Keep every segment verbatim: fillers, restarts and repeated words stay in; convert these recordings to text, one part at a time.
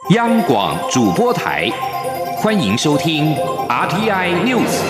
央广主播台，欢迎收听 R T I News。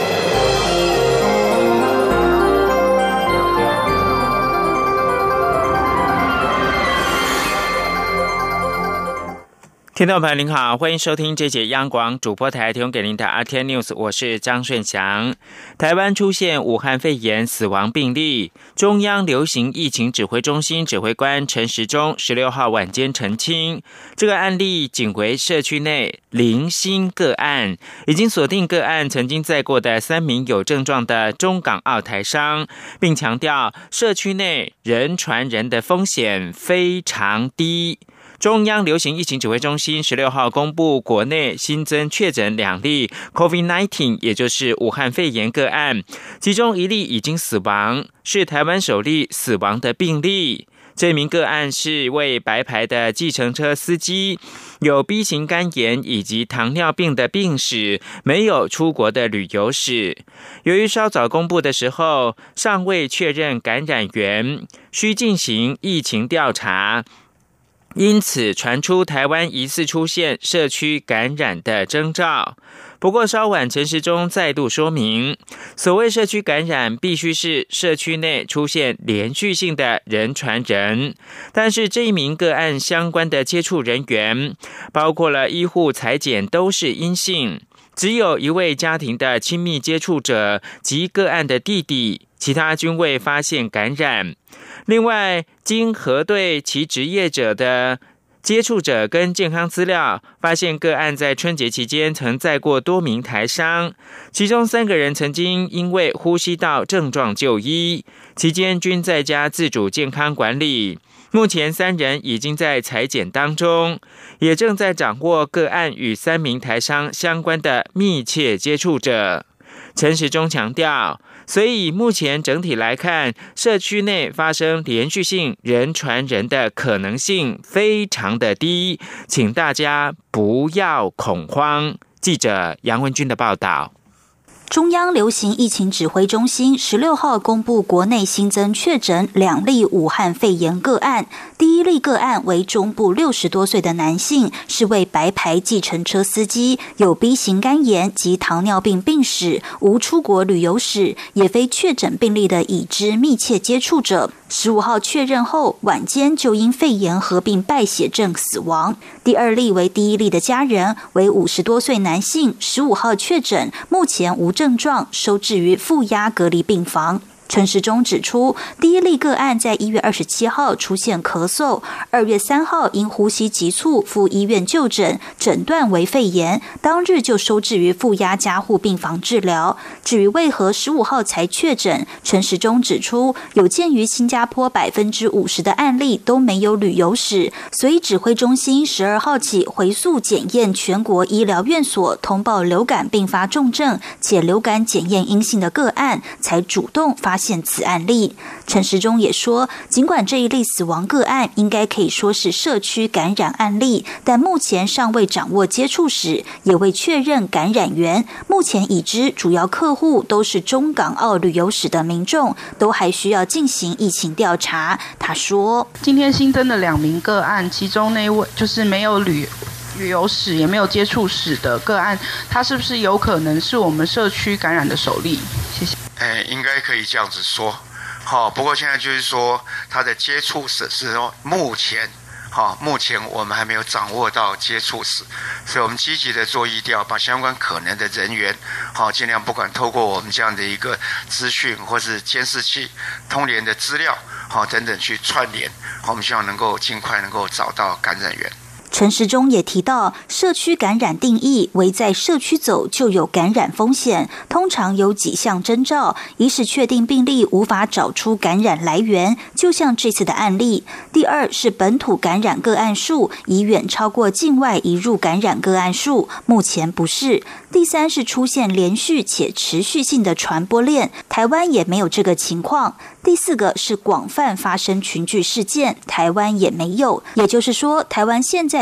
听众朋友您好，欢迎收听这节央广主播台提供给您的 R T I News， 我是张顺祥。台湾出现武汉肺炎死亡病例，中央流行疫情指挥中心指挥官陈时中十六号晚间澄清，这个案例仅为社区内零星个案，已经锁定个案曾经载过的三名有症状的中港澳台商，并强调社区内人传人的风险非常低。中央流行疫情指挥中心十六号公布，国内新增确诊两例 COVID 十九， 也就是武汉肺炎个案，其中一例已经死亡，是台湾首例死亡的病例。这名个案是位白牌的计程车司机，有 B 型肝炎以及糖尿病的病史，没有出国的旅游史。由于稍早公布的时候尚未确认感染源，需进行疫情调查，因此传出台湾疑似出现社区感染的征兆。不过稍晚陈时中再度说明，所谓社区感染必须是社区内出现连续性的人传人，但是这一名个案相关的接触人员，包括了医护采检都是阴性，只有一位家庭的亲密接触者及个案的弟弟，其他均未发现感染。另外，经核对其职业者的接触者跟健康资料，发现个案在春节期间曾载过多名台商，其中三个人曾经因为呼吸道症状就医，期间均在家自主健康管理。目前三人已经在采检当中，也正在掌握个案与三名台商相关的密切接触者。陈时中强调，所以目前整体来看，社区内发生连续性人传人的可能性非常的低，请大家不要恐慌。记者杨文君的报道。 中央流行疫情指挥中心十六号公布，国内新增确诊两例武汉肺炎个案。第一例个案为中部六十多岁的男性，是位白牌计程车司机，有 B 型肝炎及糖尿病病史，无出国旅游史，也非确诊病例的已知密切接触者。十五号确认后，晚间就因肺炎合并败血症死亡。第二例为第一例的家人，为五十多岁男性，十五号确诊，目前无症状，收治于负压隔离病房。陈时中指出，第一例个案在一月二十七号出现咳嗽，二月三号因呼吸急促赴医院就诊，诊断为肺炎，当日就收治于负压加护病房治疗。至于为何十五号才确诊，陈时中指出，有鉴于新加坡百分之五十的案例都没有旅游史，所以指挥中心十二号起回溯检验全国医疗院所通报流感并发重症且流感检验阴性的个案，才主动发现此案例。陈时中也说，尽管这一例死亡个案应该可以说是社区感染案例，但目前尚未掌握接触史，也未确认感染源。目前已知主要客户都是中港澳旅游史的民众，都还需要进行疫情调查。他说， 今天新增的两名个案，其中那位就是没有旅旅游史也没有接触史的个案，他是不是有可能是我们社区感染的首例？谢谢。 哎，应该可以这样子说，好，不过现在就是说他的接触史是说目前，好，目前我们还没有掌握到接触史，所以我们积极的做疫调，把相关可能的人员，好，尽量不管透过我们这样的一个资讯或是监视器、通联的资料，好等等去串联，好，我们希望能够尽快能够找到感染源。 陈时中也提到，社区感染定义为在社区走就有感染风险，通常有几项征兆，一是确定病例无法找出感染来源，就像这次的案例；第二是本土感染个案数已远超过境外移入感染个案数，目前不是；第三是出现连续且持续性的传播链，台湾也没有这个情况；第四个是广泛发生群聚事件，台湾也没有。也就是说，台湾现在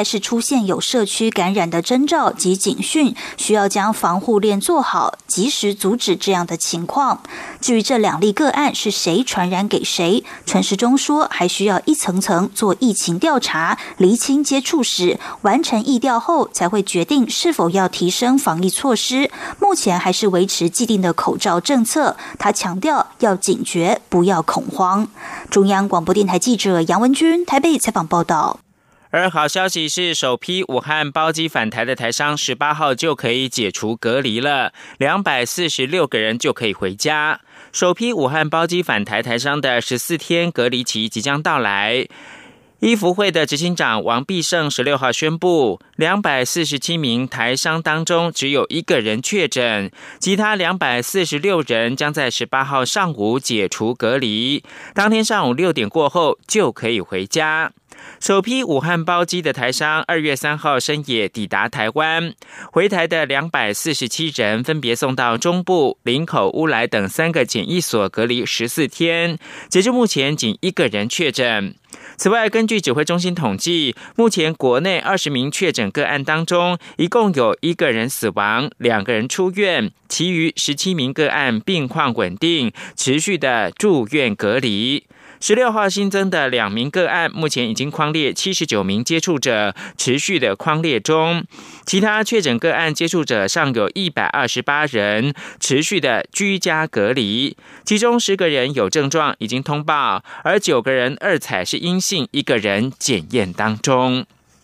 是出现有社区感染的征兆及警讯，需要将防护链做好，及时阻止这样的情况。至于这两例个案是谁传染给谁，陈时中说还需要一层层做疫情调查，厘清接触史，完成疫调后才会决定是否要提升防疫措施。目前还是维持既定的口罩政策，他强调要警觉，不要恐慌。中央广播电台记者杨文君台北采访报道。 而好消息是，首批武汉包机返台的台商十八号就可以解除隔离了，两百四十六个人就可以回家。首批武汉包机返台台商的十四天隔离期即将到来。医福会的执行长王必胜十六号宣布，两百四十七名台商当中只有一个人确诊，其他两百四十六人将在十八号上午解除隔离，当天上午六点过后就可以回家。首批武汉包机的台商二月三号深夜抵达台湾，回台的两百四十七人分别送到中部、林口、乌来等三个检疫所隔离十四天，截至目前仅一个人确诊。此外，根据指挥中心统计，目前国内二十名确诊个案当中，一共有一个人死亡，两个人出院，其余十七名个案病况稳定，持续的住院隔离。十六号新增的两名个案，目前已经匡列七十九名接触者，持续的匡列中。其他确诊个案接触者尚有一百二十八人，持续的居家隔离。其中十个人有症状，已经通报，而九个人二采是阴性，一个人检验当中。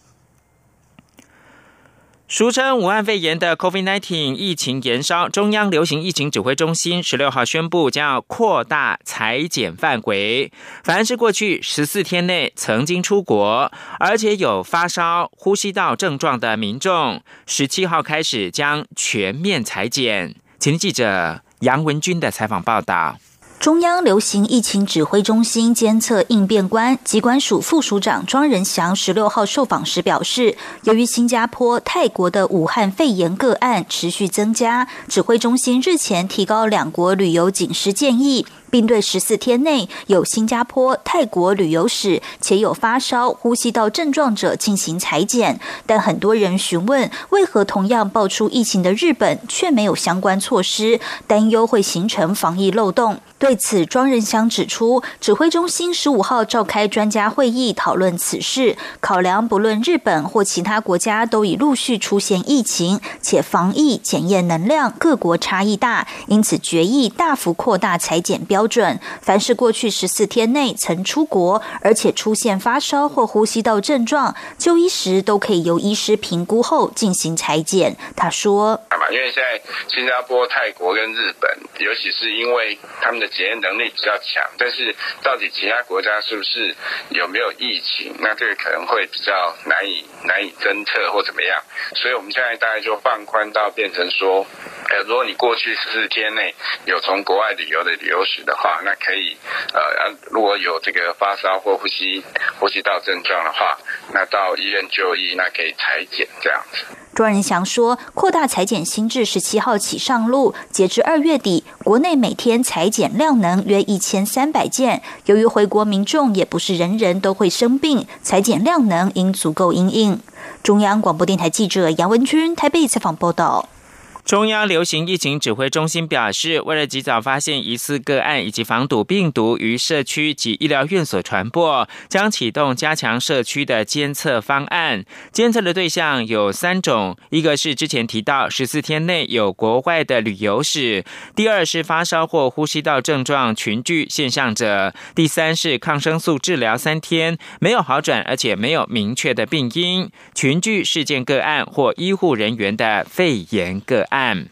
俗称武汉肺炎的 COVID 十九 疫情延烧，中央流行疫情指挥中心十六号宣布将要扩大采检范围，凡是过去十四天内曾经出国，而且有发烧、呼吸道症状的民众，十七号开始将全面采检。前记者杨文君的采访报道。 中央流行疫情指挥中心监测应变官疾管署副署长庄仁祥十六号受访时表示，由于新加坡、泰国的武汉肺炎个案持续增加，指挥中心日前提高两国旅游警示建议，并对十四天内有新加坡、泰国旅游史且有发烧、呼吸道症状者进行采检。但很多人询问，为何同样爆出疫情的日本却没有相关措施，担忧会形成防疫漏洞。对此，庄仁祥指出，指挥中心十五号召开专家会议讨论此事，考量不论日本或其他国家都已陆续出现疫情，且防疫检验能量各国差异大，因此决议大幅扩大采检标准。凡是过去十四天内曾出国，而且出现发烧或呼吸道症状，就医时都可以由医师评估后进行采检。他说， 因为现在新加坡、泰国跟日本，尤其是因为他们的检验能力比较强，但是到底其他国家是不是有没有疫情，那这个可能会比较难以难以侦测或怎么样，所以我们现在大概就放宽到变成说，呃，如果你过去十四天内有从国外旅游的旅游史的话，那可以呃，如果有这个发烧或呼吸呼吸道症状的话，那到医院就医，那可以采检这样子。 庄仁祥说，扩大采检新制十七号起上路，截至二月底，国内每天采检量能约一千三百件。由于回国民众也不是人人都会生病，采检量能应足够因应。中央广播电台记者杨文君台北采访报道。 中央流行疫情指挥中心表示，为了及早发现疑似个案以及防堵病毒于社区及医疗院所传播，将启动加强社区的监测方案。监测的对象有三种，一个是之前提到十四天内有国外的旅游史，第二是发烧或呼吸道症状群聚现象者，第三是抗生素治疗三天没有好转而且没有明确的病因，群聚事件个案或医护人员的肺炎个案。案。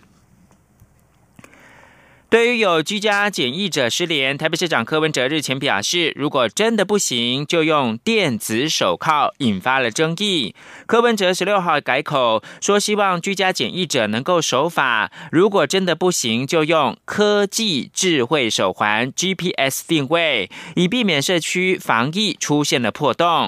对于有居家检疫者失联，台北市长柯文哲日前表示，如果真的不行，就用电子手铐，引发了争议。柯文哲十六号改口说，希望居家检疫者能够守法，如果真的不行，就用科技智慧手环 G P S 定位，以避免社区防疫出现了破洞。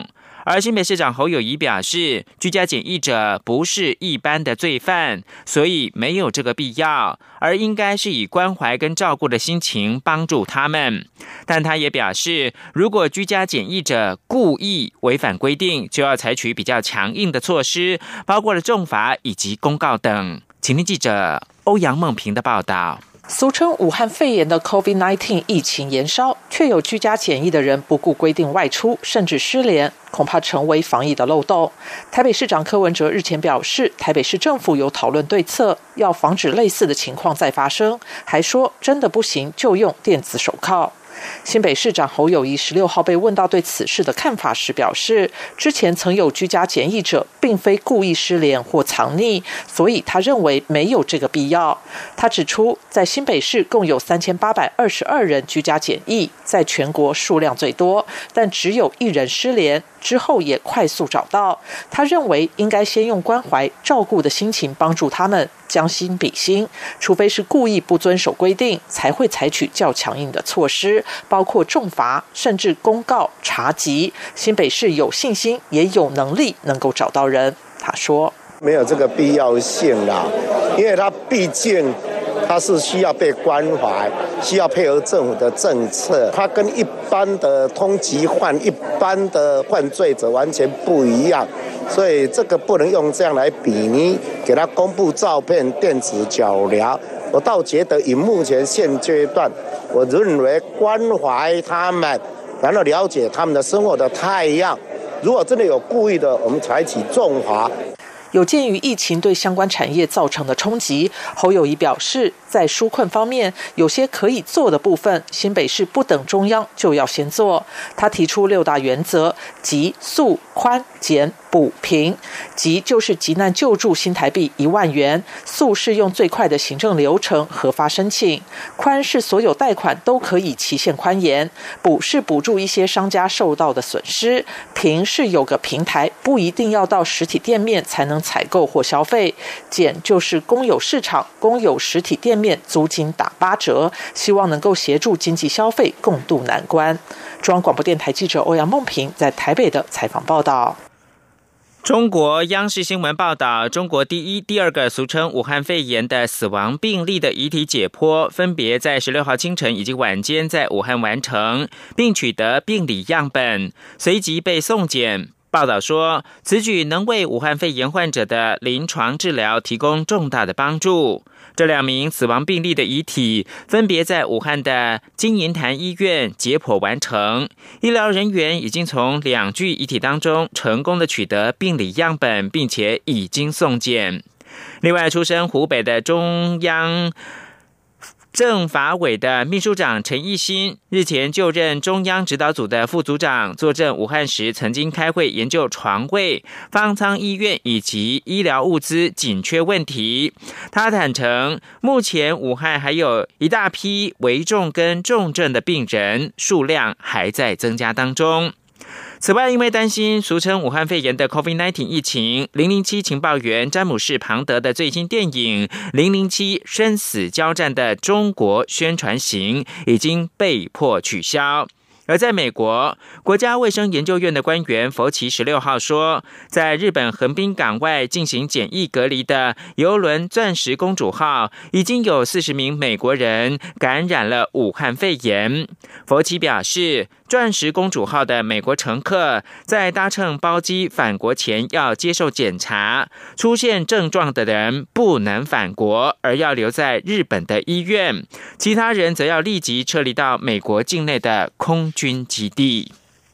而新北市长侯友宜表示，居家检疫者不是一般的罪犯，所以没有这个必要，而应该是以关怀跟照顾的心情帮助他们。但他也表示，如果居家检疫者故意违反规定，就要采取比较强硬的措施，包括了重罚以及公告等。请听记者欧阳梦平的报道。 俗称武汉肺炎的 COVID 十九 疫情延烧，却有居家检疫的人不顾规定外出，甚至失联，恐怕成为防疫的漏洞。台北市长柯文哲日前表示，台北市政府有讨论对策，要防止类似的情况再发生，还说真的不行就用电子手铐。新北市长侯友宜十六号被问到对此事的看法时表示，之前曾有居家检疫者并非故意失联或藏匿，所以他认为没有这个必要。他指出，在新北市共有三千八百二十二人居家检疫，在全国数量最多，但只有一人失联，之后也快速找到。他认为应该先用关怀照顾的心情帮助他们，将心比心，除非是故意不遵守规定，才会采取较强硬的措施，包括重罚，甚至公告查缉。新北市有信心，也有能力能够找到人。他说， 没有这个必要性啦，因为他毕竟他是需要被关怀，需要配合政府的政策，他跟一般的通缉犯、一般的犯罪者完全不一样，所以这个不能用这样来比拟，给他公布照片、电子脚镣。我倒觉得以目前现阶段，我认为关怀他们，然后了解他们的生活的态样，如果真的有故意的，我们采取重罚。 有鉴于疫情对相关产业造成的冲击，侯友宜表示，在纾困方面，有些可以做的部分，新北市不等中央就要先做。他提出六大原则，即速、宽、简、补、平。即就是急难救助新台币一万元，速是用最快的行政流程核发申请，宽是所有贷款都可以期限宽延，补是补助一些商家受到的损失，平是有个平台，不一定要到实体店面才能采购或消费，减就是公有市场、公有实体店面租金打八折，希望能够协助经济消费共度难关。中央广播电台记者欧阳梦平在台北的采访报道。 中国央视新闻报道，中国第一、第二个俗称武汉肺炎的死亡病例的遗体解剖，分别在十六号清晨以及晚间在武汉完成，并取得病理样本，随即被送检。报道说，此举能为武汉肺炎患者的临床治疗提供重大的帮助。这两名死亡病例的遗体分别在武汉的金银潭医院解剖完成，医疗人员已经从两具遗体当中成功的取得病理样本，并且已经送检。另外，出身湖北的中央政法委的秘书长陈义新日前就任中央指导组的副组长，坐镇武汉时曾经开会研究床位、方舱医院以及医疗物资紧缺问题。他坦承，目前武汉还有一大批危重跟重症的病人，数量还在增加当中。此外，因为担心俗称武汉肺炎的 COVID 十九 疫情，零零七情报员詹姆士·庞德的最新电影《零零七生死交战》的中国宣传行已经被迫取消。而在美国，国家卫生研究院的官员佛奇十六号说，在日本横滨港外进行检疫隔离的邮轮钻石公主号，已经有四十名美国人感染了武汉肺炎。佛奇表示，钻石公主号的美国乘客在搭乘包机返国前要接受检查，出现症状的人不能返国，而要留在日本的医院，其他人则要立即撤离到美国境内的空军基地。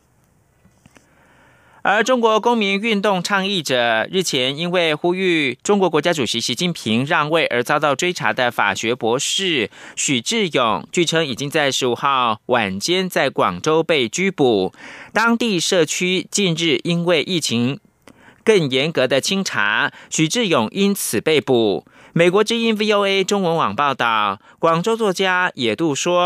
而中国公民运动倡议者日前因为呼吁中国国家主席习近平让位而遭到追查的法学博士许志勇，据称已经在十五号晚间在广州被拘捕。当地社区近日因为疫情更严格的清查，许志勇因此被捕。美国之音 V O A 中文网报道，广州作家野渡说，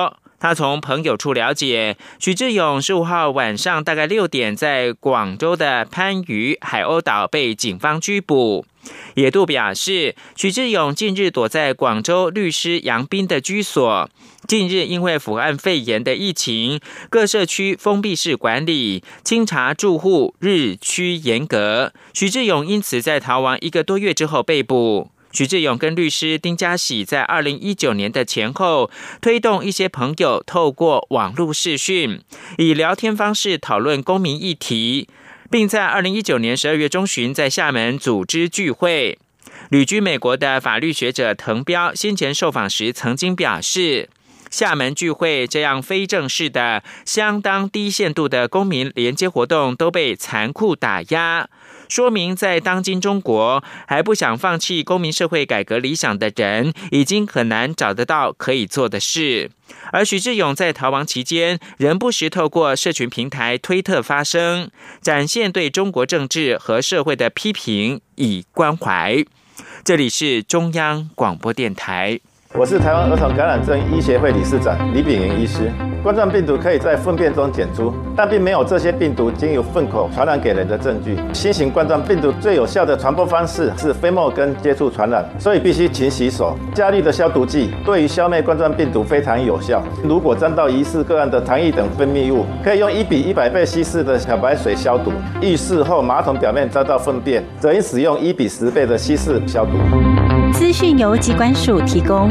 他从朋友处了解，许志勇十五号晚上大概六点在广州的番禺海鸥岛被警方拘捕。野渡表示，许志勇近日躲在广州律师杨斌的居所。近日因为武汉肺炎的疫情，各社区封闭式管理，清查住户日趋严格。许志勇因此在逃亡一个多月之后被捕。许志勇跟律师丁家喜在二零一九年的前后，推动一些朋友透过网络视讯，以聊天方式讨论公民议题，并在二零一九年十二月中旬在厦门组织聚会。旅居美国的法律学者滕彪先前受访时曾经表示，厦门聚会这样非正式的、相当低限度的公民连接活动都被残酷打压，说明在当今中国还不想放弃公民社会改革理想的人，已经很难找得到可以做的事。而许志勇在逃亡期间，仍不时透过社群平台推特发声，展现对中国政治和社会的批评，以关怀。这里是中央广播电台。 我是台湾儿童感染症医协会理事长李秉云医师。冠状病毒可以在粪便中检出，但并没有这些病毒经由粪口传染给人的证据。新型冠状病毒最有效的传播方式是飞沫跟接触传染，所以必须勤洗手。加氯的消毒剂对于消灭冠状病毒非常有效。如果沾到疑似个案的糖液等分泌物，可以用一比一百倍稀释的漂白水消毒。浴室后马桶表面沾到粪便，则应使用一比十倍的稀释消毒。 资讯由疾管署提供。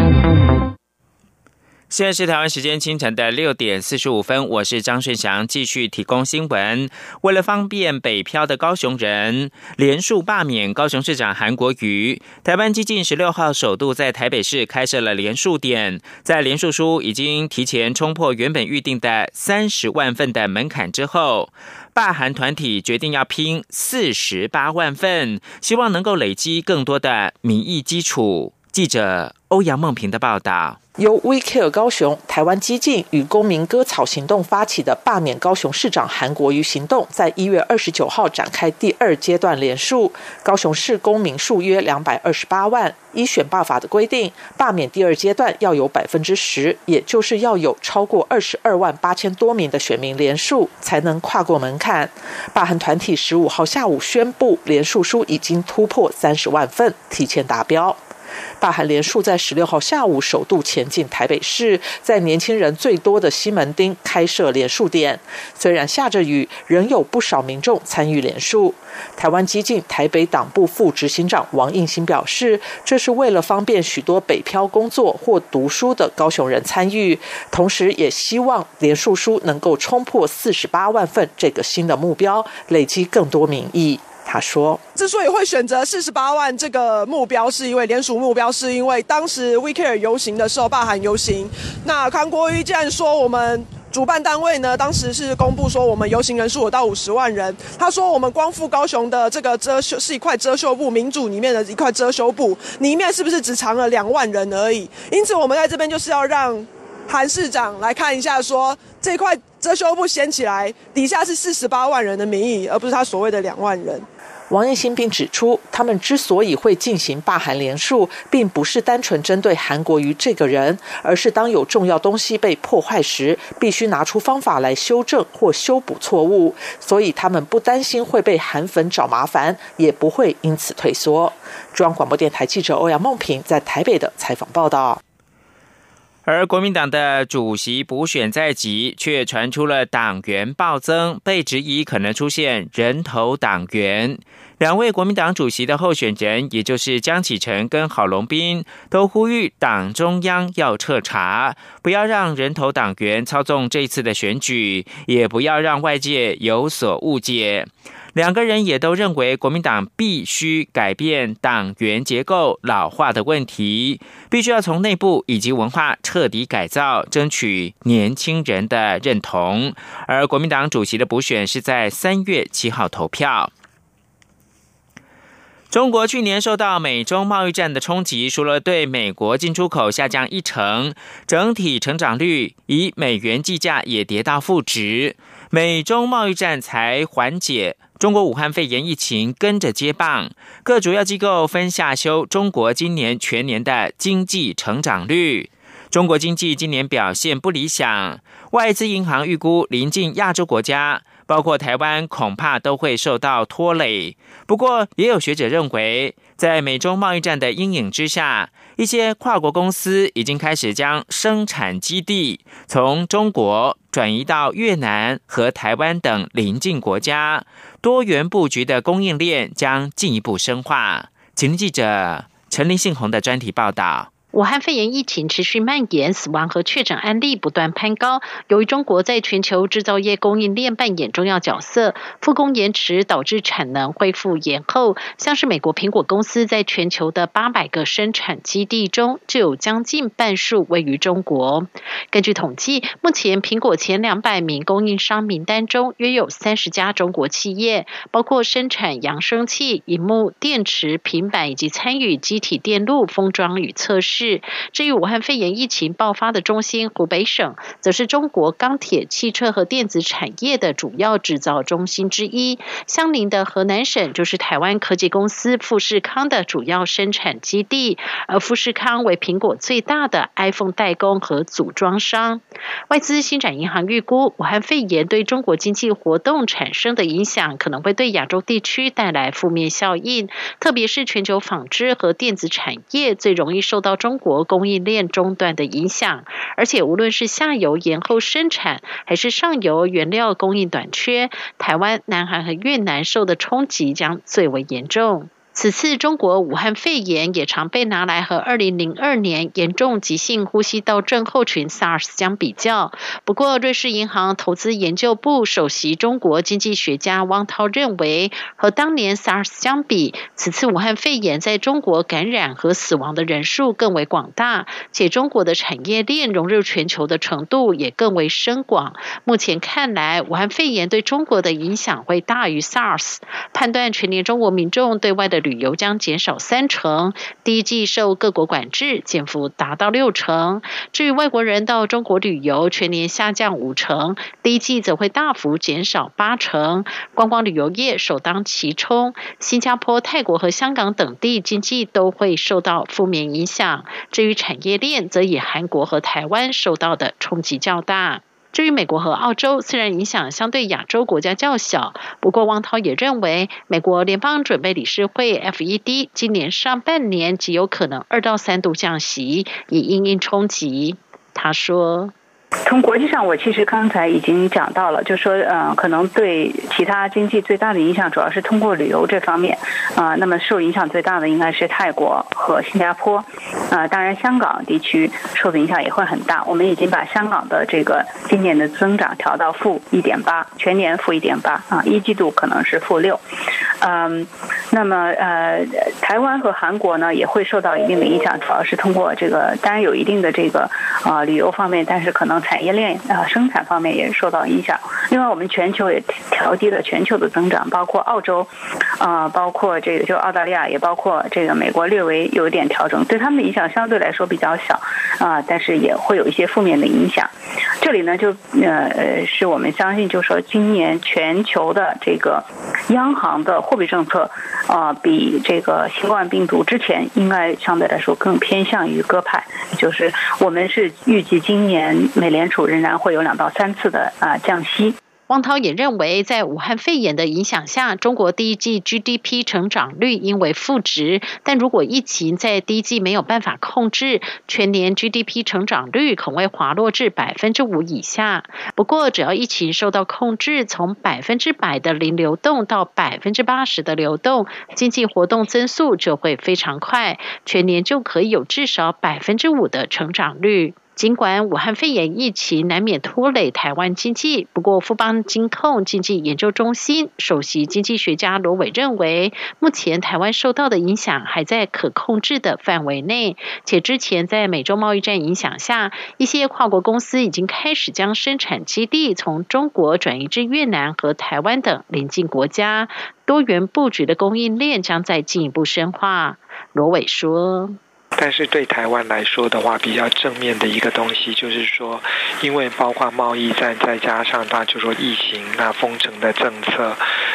现在是台湾时间清晨的六点四十五分，我是张顺祥，继续提供新闻。为了方便北漂的高雄人，连署罢免高雄市长韩国瑜，台湾基进十六号首度在台北市开设了连署点，在连署书已经提前冲破原本预定的三十万份的门槛之后，罢韩团体决定要拼四十八万份，希望能够累积更多的民意基础。记者欧阳梦平的报道。 由 We Care 高雄、台湾基进与公民割草行动发起的罢免高雄市长韩国瑜行动，在一月二十九号展开第二阶段连署。高雄市公民数约两百二十八万，依选罢法的规定，罢免第二阶段要有百分之十，也就是要有超过二十二万八千多名的选民连署，才能跨过门槛。罢韩团体十五号下午宣布，连署书已经突破三十万份，提前达标。罢韩连署在十六号下午首度前进台北市，在年轻人最多的西门町开设连署点。虽然下着雨，仍有不少民众参与连署。台湾基进台北党部副执行长王应兴表示，这是为了方便许多北漂工作或读书的高雄人参与，同时也希望连署书能够冲破四十八万份这个新的目标，累积更多民意。他说， 之所以会选择四十八万这个目标，是因为联署目标，是因为当时 We Care 游行的时候，罢韩游行，那韩国瑜既然说我们主办单位呢，当时是公布说我们游行人数有到五十万人。他说我们光复高雄的这个遮羞是一块遮羞布，民主里面的一块遮羞布，里面是不是只藏了两万人而已？因此我们在这边就是要让韩市长来看一下说，这块遮羞布掀起来，底下是四十八万人的民意，而不是他所谓的两万人。 王应兴并指出，他们之所以会进行罢韩连署，并不是单纯针对韩国瑜这个人，而是当有重要东西被破坏时，必须拿出方法来修正或修补错误，所以他们不担心会被韩粉找麻烦，也不会因此退缩。中央广播电台记者欧阳梦平在台北的采访报道。 而国民党的主席补选在即，却传出了党员暴增，被质疑可能出现人头党员。两位国民党主席的候选人，也就是江启臣跟郝龙斌，都呼吁党中央要彻查，不要让人头党员操纵这次的选举，也不要让外界有所误解。两个人也都认为国民党必须改变党员结构老化的问题，必须要从内部以及文化彻底改造，争取年轻人的认同。而国民党主席的补选是在三月七号投票。中国去年受到美中贸易战的冲击，除了对美国进出口下降一成，整体成长率以美元计价也跌到负值。美中贸易战才缓解，中国武汉肺炎疫情跟着接棒，各主要机构分下修中国今年全年的经济成长率。 中国经济今年表现不理想，外资银行预估邻近亚洲国家，包括台湾，恐怕都会受到拖累。不过，也有学者认为，在美中贸易战的阴影之下，一些跨国公司已经开始将生产基地从中国转移到越南和台湾等邻近国家，多元布局的供应链将进一步深化。请听记者陈林信宏的专题报道。 武汉肺炎疫情持续蔓延，死亡和确诊案例不断攀高。由于中国在全球制造业供应链扮演重要角色，复工延迟导致产能恢复延后。像是美国苹果公司在全球的八百个生产基地中，就有将近半数位于中国。根据统计，目前苹果前两百名供应商名单中，约有三十家中国企业，包括生产扬声器、萤幕、电池、平板以及参与机体电路封装与测试。至于武汉肺炎疫情爆发的中心湖北省，则是中国钢铁、汽车和电子产业的主要制造中心之一。相邻的河南省就是台湾科技公司富士康的主要生产基地，而富士康为苹果最大的 iPhone 代工和组装商。外资星展银行预估，武汉肺炎对中国经济活动产生的影响可能会对亚洲地区带来负面效应，特别是全球纺织和电子产业最容易受到中国供应链中断的影响，而且无论是下游延后生产，还是上游原料供应短缺，台湾、南韩和越南受的冲击将最为严重。此次中国武汉肺炎也常被拿来和二零零二年严重急性呼吸道症候群 SARS 相比较。不过，瑞士银行投资研究部首席中国经济学家汪涛认为，和当年 SARS 相比，此次武汉肺炎在中国感染和死亡的人数更为广大，且中国的产业链融入全球的程度也更为深广。目前看来，武汉肺炎对中国的影响会大于 SARS， 判断全年中国民众对外的旅游将减少三成，第一季受各国管制，减幅达到六成。至于外国人到中国旅游，全年下降五成，第一季则会大幅减少八成。观光旅游业首当其冲，新加坡、泰国和香港等地经济都会受到负面影响。至于产业链，则以韩国和台湾受到的冲击较大。至于美国和澳洲，虽然影响相对亚洲国家较小，不过汪涛也认为，美国联邦准备理事会 F E D 今年上半年极有可能二到三度降息，以因应冲击。他说， 从国际上，我其实刚才已经讲到了，就说呃，可能对其他经济最大的影响主要是通过旅游这方面啊、呃。那么受影响最大的应该是泰国和新加坡啊、呃，当然香港地区受的影响也会很大。我们已经把香港的这个今年的增长调到负一点八，全年负一点八啊，一季度可能是负六。嗯，那么呃，台湾和韩国呢也会受到一定的影响，主要是通过这个，当然有一定的这个啊、呃、旅游方面，但是可能产业链啊、呃、生产方面也受到影响。另外，我们全球也调低了全球的增长，包括澳洲啊、呃，包括这个就澳大利亚，也包括这个美国，略微有一点调整，对他们的影响相对来说比较小啊、呃，但是也会有一些负面的影响。这里呢，就呃是我们相信，就是说今年全球的这个央行的货币政策啊、呃，比这个新冠病毒之前应该相对来说更偏向于鸽派，就是我们是预计今年美联储仍然会有两到三次的啊、呃、降息。 汪涛也认为，在武汉肺炎的影响下，中国第一季 G D P 成长率应为负值，但如果疫情在第一季没有办法控制，全年 G D P 成长率可能会滑落至百分之五以下。不过，只要疫情受到控制，从百分之百的零流动到百分之八十的流动，经济活动增速就会非常快，全年就可以有至少百分之五的成长率。尽管武汉肺炎疫情难免拖累台湾经济，不过富邦金控经济研究中心首席经济学家罗伟认为，目前台湾受到的影响还在可控制的范围内，且之前在美洲贸易战影响下，一些跨国公司已经开始将生产基地从中国转移至越南和台湾等邻近国家，多元布局的供应链将再进一步深化。罗伟说， 但是对台湾来说的话，比较正面的一个东西就是说，因为包括贸易战，再加上它就说疫情那封城的政策，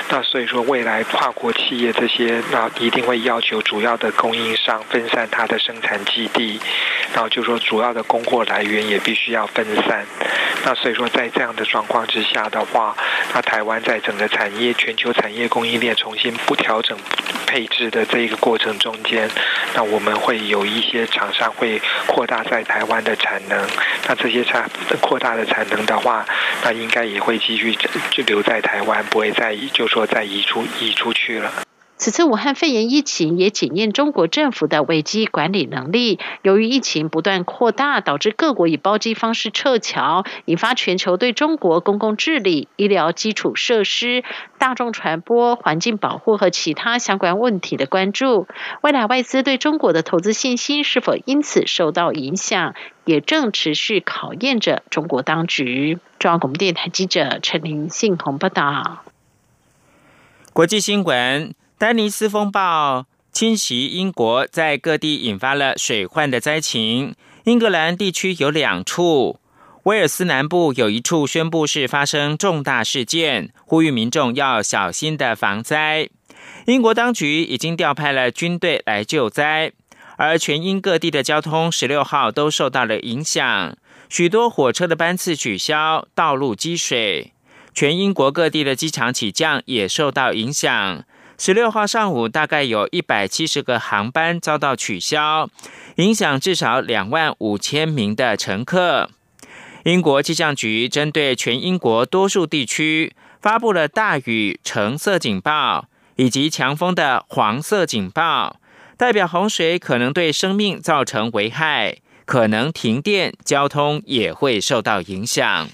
那所以说未来跨国企业这些，那一定会要求主要的供应商分散它的生产基地，然后就说主要的供货来源也必须要分散。那所以说在这样的状况之下的话，那台湾在整个产业全球产业供应链重新不调整配置的这一个过程中间，那我们会有一些厂商会扩大在台湾的产能，那这些产扩大的产能的话，那应该也会继续就留在台湾，不会再就说再移出移出去了。 此次武汉肺炎疫情也检验中国政府的危机管理能力。由于疫情不断扩大，导致各国以包机方式撤侨，引发全球对中国公共治理、医疗基础设施、大众传播、环境保护和其他相关问题的关注。未来外资对中国的投资信心是否因此受到影响，也正持续考验着中国当局。中央广播电台记者陈林信宏报道。 国际新闻。丹尼斯风暴侵袭英国，在各地引发了水患的灾情。英格兰地区有两处，威尔斯南部有一处宣布是发生重大事件，呼吁民众要小心的防灾。英国当局已经调派了军队来救灾，而全英各地的交通十六号都受到了影响，许多火车的班次取消，道路积水，全英国各地的机场起降也受到影响。十六号上午，大概有一百七十个航班遭到取消，影响至少两万五千名的乘客。英国气象局针对全英国多数地区发布了大雨橙色警报以及强风的黄色警报，代表洪水可能对生命造成危害，可能停电，交通也会受到影响。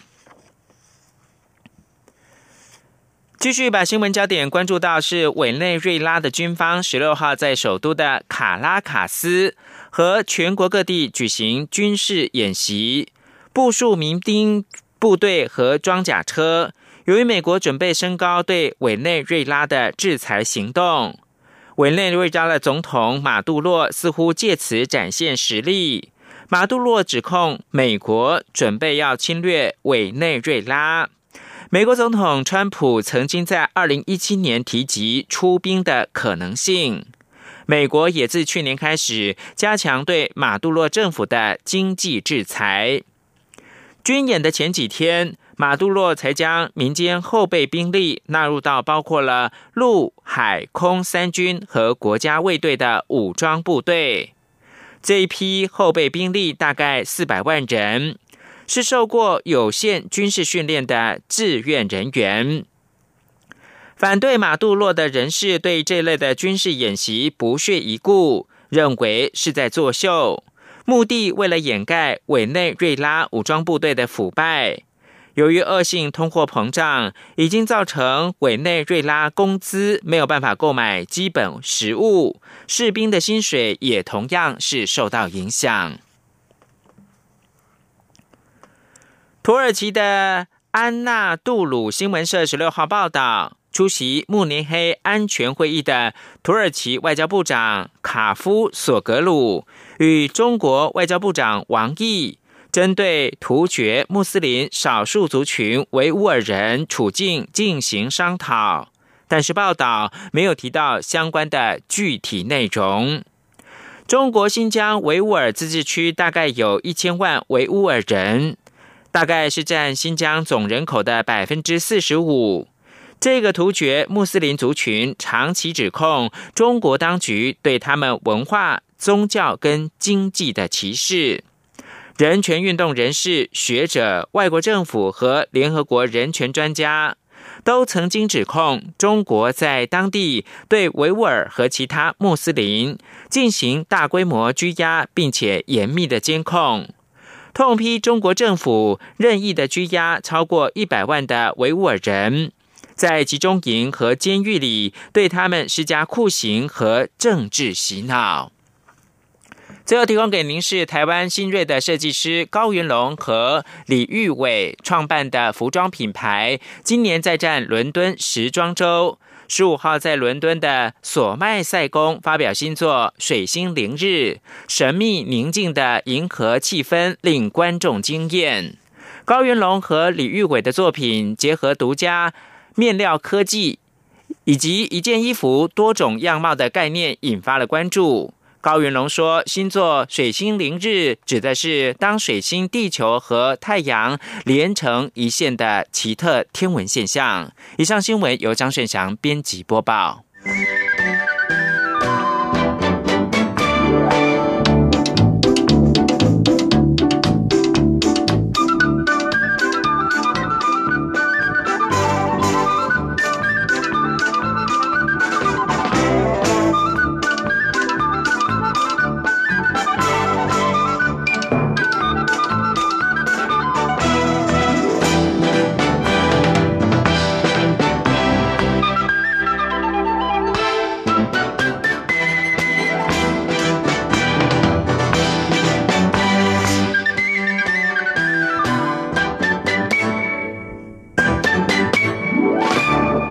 继续把新闻焦点关注到是委内瑞拉的军方十六号在首都的卡拉卡斯和全国各地举行军事演习，部署民兵部队和装甲车。由于美国准备升高对委内瑞拉的制裁行动，委内瑞拉的总统马杜洛似乎借此展现实力。马杜洛指控美国准备要侵略委内瑞拉。美国总统川普曾经在二零一七年提及出兵的可能性。美国也自去年开始加强对马杜洛政府的经济制裁。军演的前几天，马杜洛才将民间后备兵力纳入到包括了陆海空三军和国家卫队的武装部队。这一批后备兵力大概四百万人，是受过有限军事训练的志愿人员。反对马杜洛的人士对这类的军事演习不屑一顾，认为是在作秀，目的为了掩盖委内瑞拉武装部队的腐败。由于恶性通货膨胀已经造成委内瑞拉工资没有办法购买基本食物，士兵的薪水也同样是受到影响。土耳其的安纳杜鲁新闻社十六号报道，出席慕尼黑安全会议的土耳其外交部长卡夫索格鲁与中国外交部长王毅针对突厥穆斯林少数族群维吾尔人处境进行商讨，但是报道没有提到相关的具体内容。中国新疆维吾尔自治区大概有一千万维吾尔人，大概是占新疆总人口的 百分之四十五。 这个突厥穆斯林族群长期指控中国当局对他们文化、宗教跟经济的歧视。人权运动人士、学者、外国政府和联合国人权专家都曾经指控中国在当地对维吾尔和其他穆斯林进行大规模拘押，并且严密的监控，痛批中国政府任意的拘押超过一百万的维吾尔人，在集中营和监狱里对他们施加酷刑和政治洗脑。最后提供给您是台湾新锐的设计师高云龙和李玉伟创办的服装品牌，今年在战伦敦时装周，十五号在伦敦的索麦塞宫发表新作《水星凌日》，神秘宁静的银河气氛令观众惊艳。高云龙和李玉伟的作品结合独家面料科技以及一件衣服多种样貌的概念引发了关注。高元龙说，星座水星凌日指的是当水星、地球和太阳连成一线的奇特天文现象。以上新闻由张顺祥编辑播报。